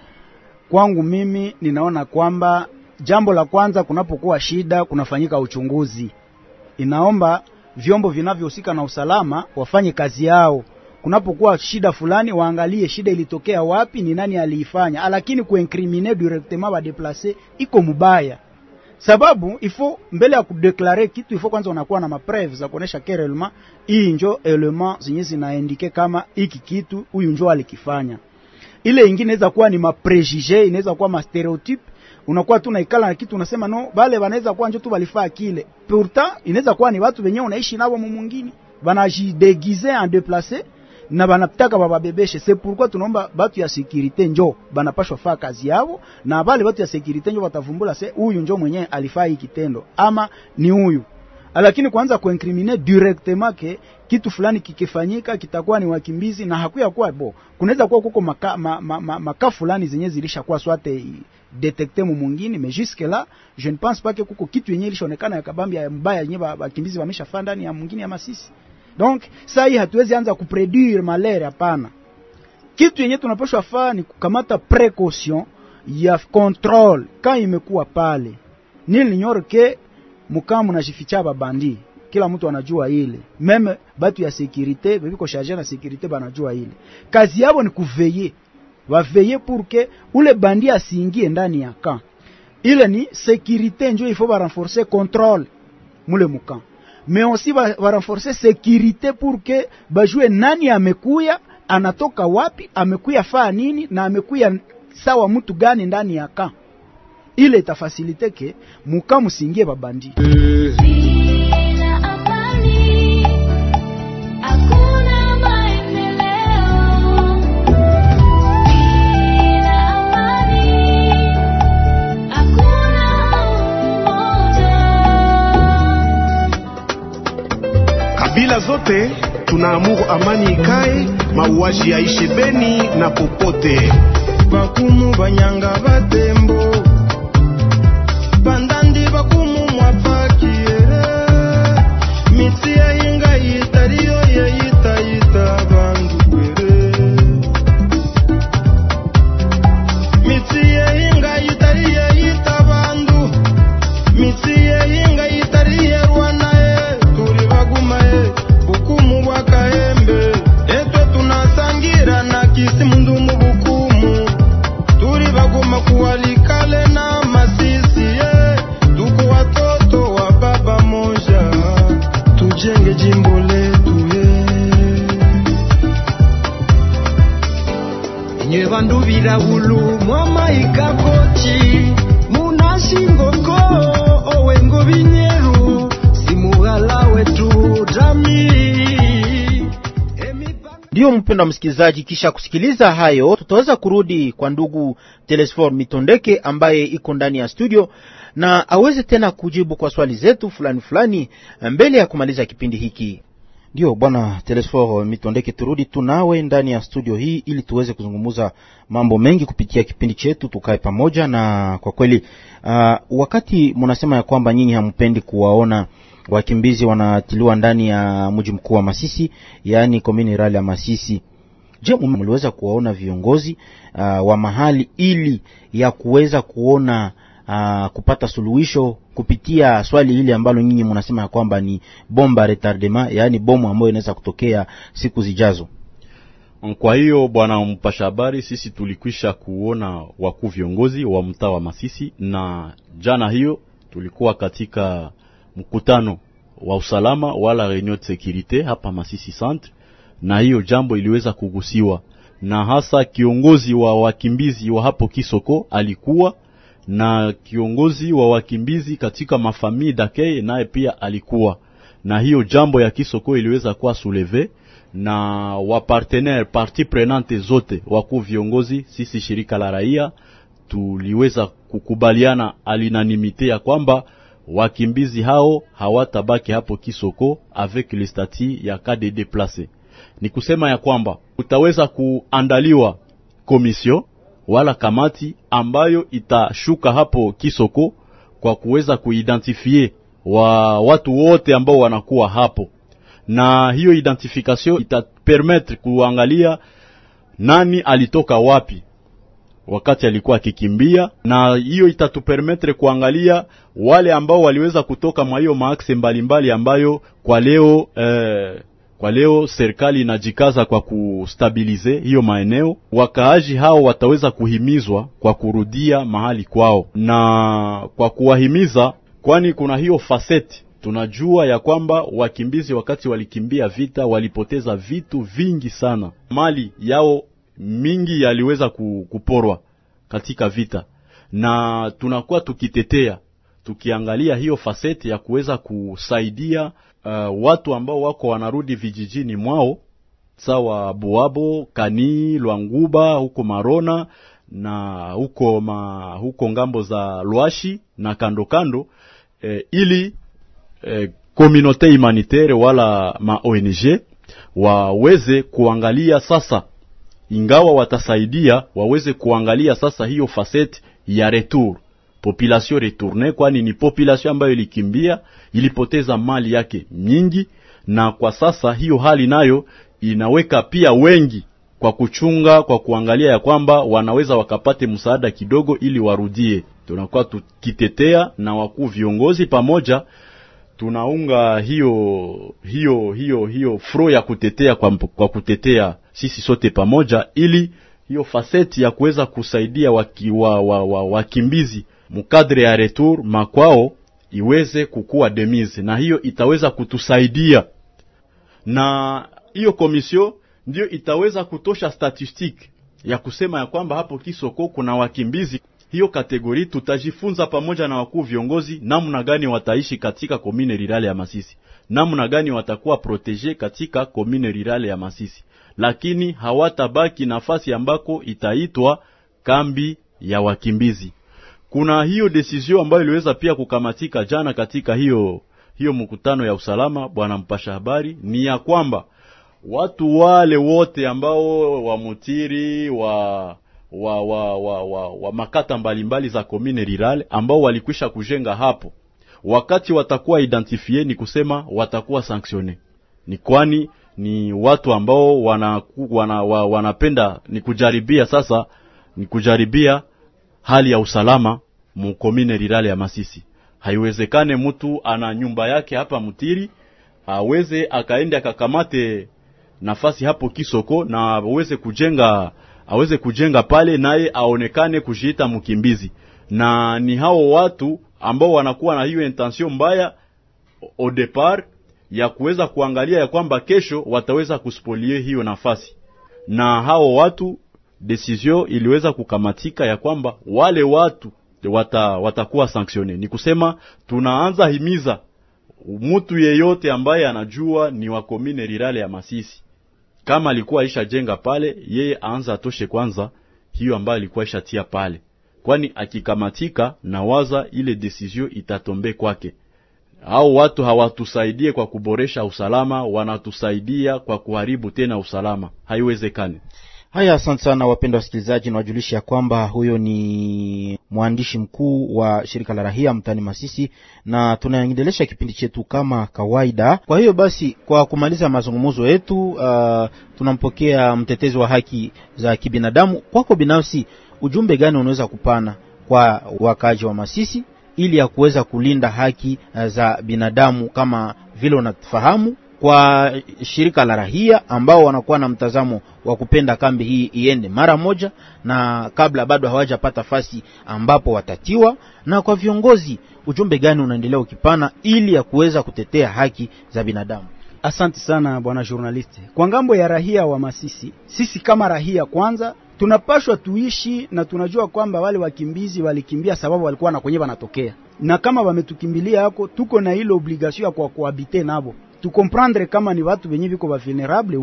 Kwangu mimi ninaona kwamba jambo la kwanza, kunapokuwa shida kunafanyika uchunguzi. Inaomba vyombo vinavyohusika na usalama wafanye kazi yao. Kunapokuwa shida fulani waangalie shida ilitokea wapi, ni nani aliifanya, lakini kuincriminer directement ba déplacer iko mubaya. Sababu ifo mbele ya kudeklare kitu ifo kwanza unakuwa na mapreuve za kuonesha kerelma hii njo element zenye zinaindike kama hiki kitu huyu njo alikifanya. Ile nyingine inaweza kuwa ni maprejije, inaweza kuwa ma stereotype. Unakuwa tu naikala na kitu unasema no, bale wanaweza kuwa njo tu balifaa kile. Pourtant inaweza kuwa ni watu wenyewe unaishi nao mwingine, banajideguiser en déplacer na banataka bababebeshe. C'est pourquoi tunaomba batu ya sécurité njo banapashwa faa kazi yao, na bale batu ya sécurité njo batavumbula se huyu njo mwenyewe alifaa hiki kitendo ama ni huyu. Lakini kwanza kuincriminer directement ke kitu fulani kikifanyika kitakuwa ni wakimbizi na hakuya kuwa bo. Kunaweza kuwa kuko maka, ma, ma, ma, maka fulani zenye zilisha kuwa swate detecter mu mwingine, mais jusque là je ne pense pas que kuko kitu yenye ilishonekana ya kabambi ya mbaya yenye wakimbizi wameshafanya ndani ya mwingine ya Masisi. Donc saa hii hatuwezi anza kuproduire malaria, hapana. Kitu yenye tunapaswa fanya ni kukamata précaution ya control quand imekuwa pale. Nil ignore que mukamu na jificha babandi, kila mtu anajua ile. Meme batu ya sécurité biko chargé na sécurité banajua ile. Kazi yao ni kuveiller. Va veiller pour que ule bandi asiingie ndani ya camp. Ile ni sécurité njo il faut ba renforcer contrôle mule mukamp. Mais aussi va, va renforcer sécurité pour que bajue nani amekuya, anatoka wapi, amekuya faa nini, na amekuya sawa mtu gani ndani ya camp. Ile itafasilite ke muka musingie babandi. Kabila zote tunaamuru amani ikae, mauaji yaishe Beni na popote. Bakumu banyanga batembo, bandandi bakumu mwapakiere, mitsi ya hinga yitariyo ya yita yita bandu kwere. Mitsi ya hinga yitariyo ya yita bandu, mitsi ya hinga yitariyo rwana e, turi baguma e, bukumu bwakaembe, etwe tunasangira na kisi mundu mubukumu, turi baguma kuwalikale na Masisi e, tuko watoto wa baba moja, tujenge jimbo letu e. Nye bandu birawulu mwama ikakochi, munashingoko owengo binyeru, simugala wetu jami. Ndio mpenda msikilizaji, kisha kusikiliza hayo tutaweza kurudi kwa ndugu Telesfor Mitondeke ambaye iko ndani ya studio na aweze tena kujibu kwa swali zetu fulani fulani mbele ya kumaliza kipindi hiki. Ndio bwana Telesfor Mitondeke, turudi tunawe ndani ya studio hii ili tuweze kuzungumza mambo mengi kupitia kipindi chetu tukae pamoja. Na kwa kweli uh, wakati mnasema ya kwamba nyinyi hampendi kuwaona wakimbizi wanatiliwa ndani ya mji mkuu wa Masisi, yani komini rali ya Masisi, je, mliweza kuwaona viongozi uh, wa mahali ili ya kuweza kuona uh, kupata suluhisho kupitia swali hili ambalo nyinyi mnasema kwamba ni bomba retardement, yani bomu ambayo inaweza kutokea siku zijazo? Kwa hiyo bwana mpasha habari, sisi tulikwisha kuona wakuu viongozi wa mtaa wa Masisi, na jana hiyo tulikuwa katika mkutano wa usalama wala reunion de sécurité hapa Masisi Centre, na hiyo jambo iliweza kugusiwa na hasa kiongozi wa wakimbizi wa hapo Kisoko alikuwa, na kiongozi wa wakimbizi katika mafamii Dakeye naye pia alikuwa, na hiyo jambo ya Kisoko iliweza kuwa souleve na wa partenaire partie prenante zote wakuu viongozi. Sisi shirika la raia tuliweza kukubaliana alinanimite ya kwamba wakimbizi hao hawatabaki hapo Kisoko avec le statut ya cas de déplacé. Ni kusema ya kwamba utaweza kuandaliwa komisio wala kamati ambayo itashuka hapo Kisoko kwa kuweza kuidentifie wa watu wote ambao wanakuwa hapo, na hiyo identification itapermettre kuangalia nani alitoka wapi wakati alikuwa akikimbia, na hiyo itatupermettre kuangalia wale ambao waliweza kutoka mwa hiyo maaxe mbalimbali ambayo kwa leo eh, kwa leo serikali inajikaza kwa kustabilize hiyo maeneo. Wakaaji hao wataweza kuhimizwa kwa kurudia mahali kwao, na kwa kuwahimiza, kwani kuna hiyo facette tunajua ya kwamba wakimbizi wakati walikimbia vita walipoteza vitu vingi sana, mali yao mingi yaliweza kuporwa katika vita, na tunakuwa tukitetea tukiangalia hiyo facette ya kuweza kusaidia uh, watu ambao wako wanarudi vijijini mwao, sawa Buabo, Kani, Lwanguba, huko Marona na huko ma, huko ngambo za Lwashi na kando kando, eh, ili eh, communauté humanitaire wala ma O N G waweze kuangalia sasa, ingawa watasaidia, waweze kuangalia sasa hiyo facette ya retour, population retourne, kwani ni population ambayo ilikimbia, ilipoteza mali yake nyingi, na kwa sasa hiyo hali nayo inaweka pia wengi kwa kuchunga, kwa kuangalia ya kwamba wanaweza wakapate msaada kidogo ili warudie. Tunakuwa tukitetea na wakuu viongozi pamoja, tunaunga hiyo hiyo hiyo hiyo fro ya kutetea kwa, kwa kutetea sisi sote pamoja, ili hiyo facette ya kuweza kusaidia waki, wa, wa, wa, wakimbizi mukadre ya retour makwao iweze kukua demise, na hiyo itaweza kutusaidia, na hiyo komisio ndio itaweza kutosha statistique ya kusema ya kwamba hapo Kisoko kuna wakimbizi. Hiyo kategori tutajifunza pamoja na wakuu viongozi namna gani wataishi katika commune rurale ya Masisi, namna gani watakuwa protege katika commune rurale ya Masisi, lakini hawatabaki nafasi ambako itaitwa kambi ya wakimbizi. Kuna hiyo decision ambayo iliweza pia kukamatika jana katika hiyo hiyo mkutano ya usalama, bwana mpasha habari, ni ya kwamba watu wale wote ambao wa Mutiri wa wa wa wa, wa, wa makata mbalimbali za commune rurale ambao walikwisha kujenga hapo, wakati watakuwa identifie, ni kusema watakuwa sanctionne, ni kwani ni watu ambao wana, wana, wana wanapenda ni kujaribia sasa ni kujaribia hali ya usalama mu commune rurale ya Masisi. Haiwezekane mtu ana nyumba yake hapa Mutiri aweze akaende akakamate nafasi hapo Kisoko na aweze kujenga aweze kujenga pale naye aonekane kujiita mkimbizi. Na ni hao watu ambao wanakuwa na hiyo intention mbaya au départ ya kuweza kuangalia ya kwamba kesho wataweza kuspolie hiyo nafasi, na hao watu decision iliweza kukamatika ya kwamba wale watu wata, watakuwa sanctionne. Ni kusema tunaanza himiza mtu yeyote ambaye anajua ni wa commune rurale ya Masisi, kama alikuwa aisha jenga pale, yeye aanza atoshe kwanza hiyo ambayo alikuwa aisha tia pale, kwani akikamatika na waza ile decision itatombe kwake. Hao watu hawatusaidie kwa kuboresha usalama, wanatusaidia kwa kuharibu tena usalama. Haiwezekani. Haya, asante sana wapendwa wasikilizaji, na wajulisha ya kwamba huyo ni mwandishi mkuu wa shirika la rahia mtani Masisi, na tunaendelesha kipindi chetu kama kawaida. Kwa hiyo basi, kwa kumaliza mazungumzo yetu, uh, tunampokea mtetezi wa haki za kibinadamu. Kwako binafsi, ujumbe gani unaweza kupana kwa wakaji wa Masisi ili ya kuweza kulinda haki uh, za binadamu kama vile unafahamu, kwa shirika la rahia ambao wanakuwa na mtazamo wa kupenda kambi hii iende mara moja, na kabla bado hawajapata fasi ambapo watatiwa, na kwa viongozi ujumbe gani unaendelea ukipana ili ya kuweza kutetea haki za binadamu? Asante sana bwana journaliste. Kwa ngambo ya rahia wa Masisi, sisi kama rahia kwanza tunapashwa tuishi na tunajua kwamba wale wakimbizi walikimbia sababu walikuwa na kwenye wanatokea, na kama wametukimbilia hako tuko na ile obligation ya kwa kuhabite nabo, tu comprendre kama ni watu wenye viko va vulnerable oui,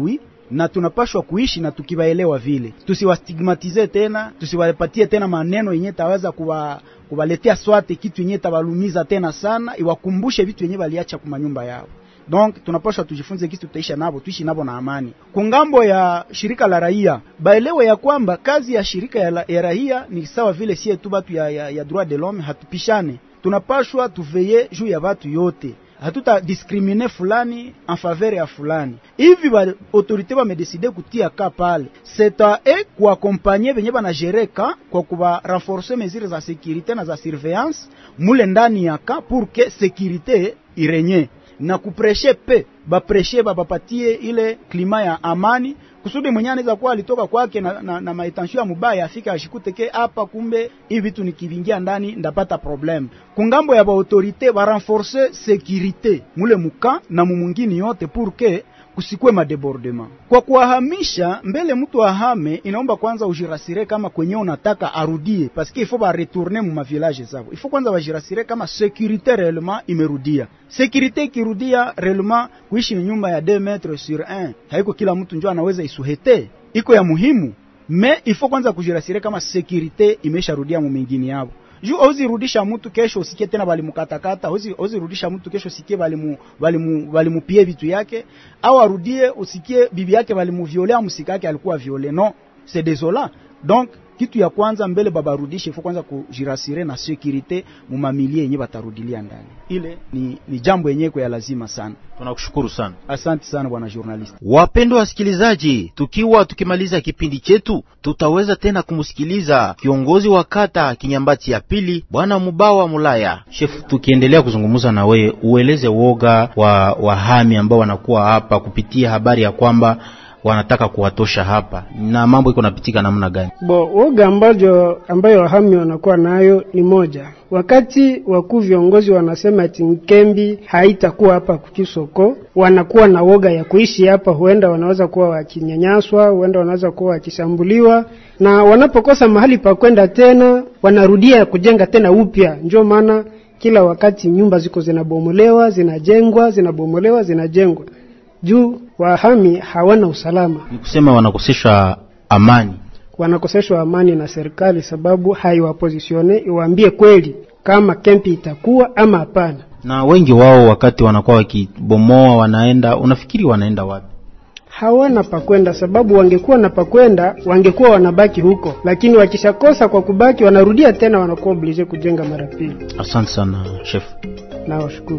na tunapashwa kuishi na tukiwaelewa vile. Tusiwastigmatize tena, tusiwapatie tena maneno yenye taweza kuwa kubaletea swate kitu yenye tabalumiza tena sana, iwakumbushe vitu yenye waliacha kwa nyumba yao. Donc tunapaswa tujifunze kitu tutaisha nabo, tuishi nabo na amani. Kungambo ya shirika la raia, baelewe ya kwamba kazi ya shirika ya, la, ya raia ni sawa vile sie tu batu ya, ya, ya droit de l'homme, hatupishane. Tunapaswa tuveye juu ya watu yote. Hatuta discriminer fulani en faveur ya fulani. Hivi ba autorité ba medecide kutia ka pale. C'est à eux kuaccompagner benye bana gérer ka kwa kuba renforcer mesures za sécurité na za surveillance mule ndani ya ka pour que sécurité irenye. Na kupreshe pe ba preshe ba bapatie ile klima ya amani kusudi mwenye anaweza kuwa alitoka kwake na, na, na maitention ya mubaya afika ashikute ke hapa kumbe hivi vitu nikivingia ndani ndapata problem. Kungambo ya ba autorité ba renforcer sécurité mule muka na mumungini yote pour que kusikwe madebordement. Kwa kuahamisha mbele mtu ahame, inaomba kwanza ujirasire kama kwenye unataka arudie, parce que il faut ba retourner mu village zao. Il faut kwanza wajirasire kama sécurité réellement imerudia. Sécurité kirudia réellement, kuishi nyumba ya deux mètres sur un haiko kila mtu njoo anaweza isuhete, iko ya muhimu, mais il faut kwanza kujirasire kama sécurité imesharudia mu mingine yao. Juu ozi rudisha mtu kesho usikie tena bali mukatakata, ozi ozi rudisha mtu kesho usikie bali mu bali mu bali mupie vitu yake, au arudie usikie bibi yake bali mu violea musika yake alikuwa violé. Non, c'est désolant. Donc kitu ya kwanza mbele baba rudishe ifo kwanza kujirasire na sécurité mu mamilie yenye batarudilia ndani. Ile ni ni jambo yenyewe kwa lazima sana. Tunakushukuru sana. Asante sana bwana journalist. Wapendwa wasikilizaji, tukiwa tukimaliza kipindi chetu, tutaweza tena kumsikiliza kiongozi wa kata Kinyambati ya pili, bwana Mubawa Mulaya. Chef, tukiendelea kuzungumza na wewe, ueleze woga wa wahami ambao wanakuwa hapa kupitia habari ya kwamba wanataka kuwatosha hapa, na mambo iko napitika namna gani? Bo, woga ambayo ambayo wahami wanakuwa nayo ni moja. Wakati wakuu viongozi wanasema ati Nkembi haitakuwa hapa Kukisoko, wanakuwa na woga ya kuishi hapa, huenda wanaweza kuwa wakinyanyaswa, huenda wanaweza kuwa wakishambuliwa, na wanapokosa mahali pa kwenda tena wanarudia kujenga tena upya. Ndio maana kila wakati nyumba ziko zinabomolewa, zinajengwa, zinabomolewa, zinajengwa. Juu wahami hawana usalama. Ni kusema wanakoseshwa amani. Wanakoseshwa amani na serikali, sababu haiwapozisione iwaambie kweli kama kempi itakuwa ama hapana. Na wengi wao wakati wanakuwa wakibomoa wanaenda, unafikiri wanaenda wapi? Hawana pakwenda, sababu wangekuwa na pakwenda wangekuwa wanabaki huko, lakini wakishakosa kwa kubaki wanarudia tena, wanakuwa oblige kujenga mara pili. Asante sana chef. Na washukuru.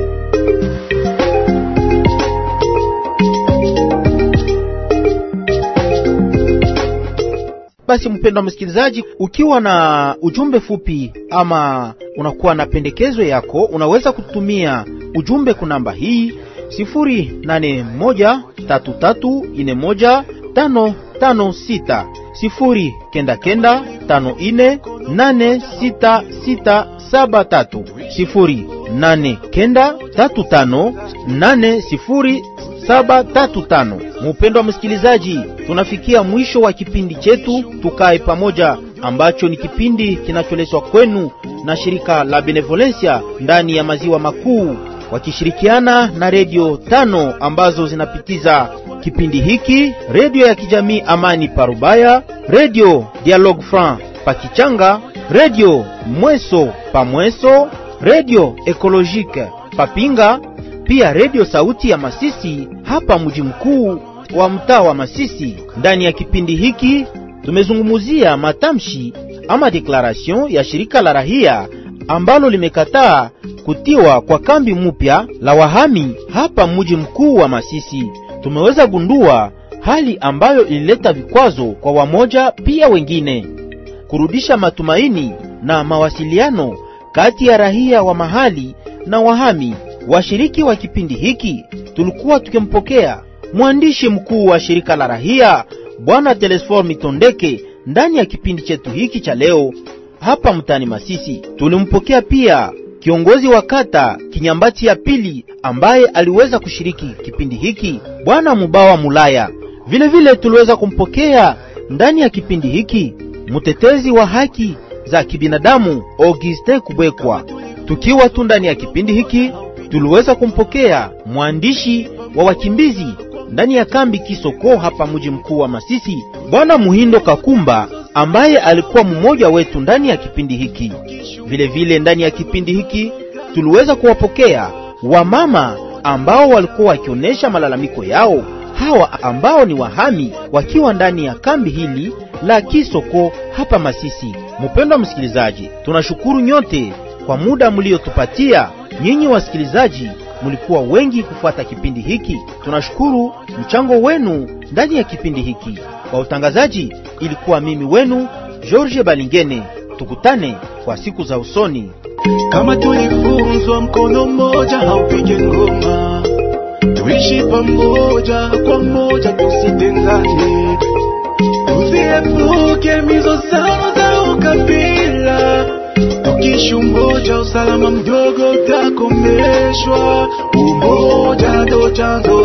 Basi mpendwa msikilizaji, ukiwa na ujumbe fupi ama unakuwa na pendekezo yako, unaweza kutumia ujumbe kunamba hii sifuri nane moja tatu tatu nne moja tano tano sita sifuri kenda kenda tano ine nane sita sita saba tatu sifuri nane kenda tatu tano nane sifuri saba tatu tano. Mpendwa msikilizaji, tunafikia mwisho wa kipindi chetu Tukae Pamoja, ambacho ni kipindi kinacholetwa kwenu na shirika la Benevolencia ndani ya maziwa makuu, wakishirikiana na redio tano ambazo zinapitiza kipindi hiki: redio ya kijamii Amani Parubaya, redio Dialogue Franc Pakichanga, redio Mweso Pamweso, redio Ecologique Papinga, pia redio Sauti ya Masisi hapa mji mkuu wa mtaa wa Masisi. Ndani ya kipindi hiki tumezungumzia matamshi ama declaration ya shirika la rahia ambalo limekataa kutiwa kwa kambi mpya la wahami hapa mji mkuu wa Masisi. Tumeweza gundua hali ambayo ilileta vikwazo kwa wamoja pia wengine, kurudisha matumaini na mawasiliano kati ya rahia wa mahali na wahami. Washiriki wa kipindi hiki tulikuwa tukimpokea mwandishi mkuu wa shirika la rahia bwana Telesfor Mitondeke ndani ya kipindi chetu hiki cha leo hapa mtani Masisi. Tulimpokea pia kiongozi wa kata Kinyambati ya pili ambaye aliweza kushiriki kipindi hiki bwana Mubawa Mulaya. Vile vile tuliweza kumpokea ndani ya kipindi hiki mtetezi wa haki za kibinadamu Auguste Kubekwa. Tukiwa tu ndani ya kipindi hiki tuliweza kumpokea mwandishi wa wakimbizi ndani ya kambi Kisoko hapa mji mkuu wa Masisi, Bwana Muhindo Kakumba ambaye alikuwa mmoja wetu ndani ya kipindi hiki. Vile vile ndani ya kipindi hiki tuliweza kuwapokea wamama ambao walikuwa wakionyesha malalamiko yao, hawa ambao ni wahami wakiwa ndani ya kambi hili la Kisoko hapa Masisi. Mpendwa msikilizaji, tunashukuru nyote kwa muda mliotupatia. Nyinyi wasikilizaji mlikuwa wengi kufuata kipindi hiki. Tunashukuru mchango wenu ndani ya kipindi hiki. Kwa utangazaji ilikuwa mimi wenu George Balingene. Tukutane kwa siku za usoni. Kama tulifunzwa mkono mmoja haupige ngoma, tuishi pamoja kwa moja, tusitengane, tusiepuke mizozano za ukabila. Tukiishi umoja, usalama mdogo utakomeshwa. Umoja ndo chanzo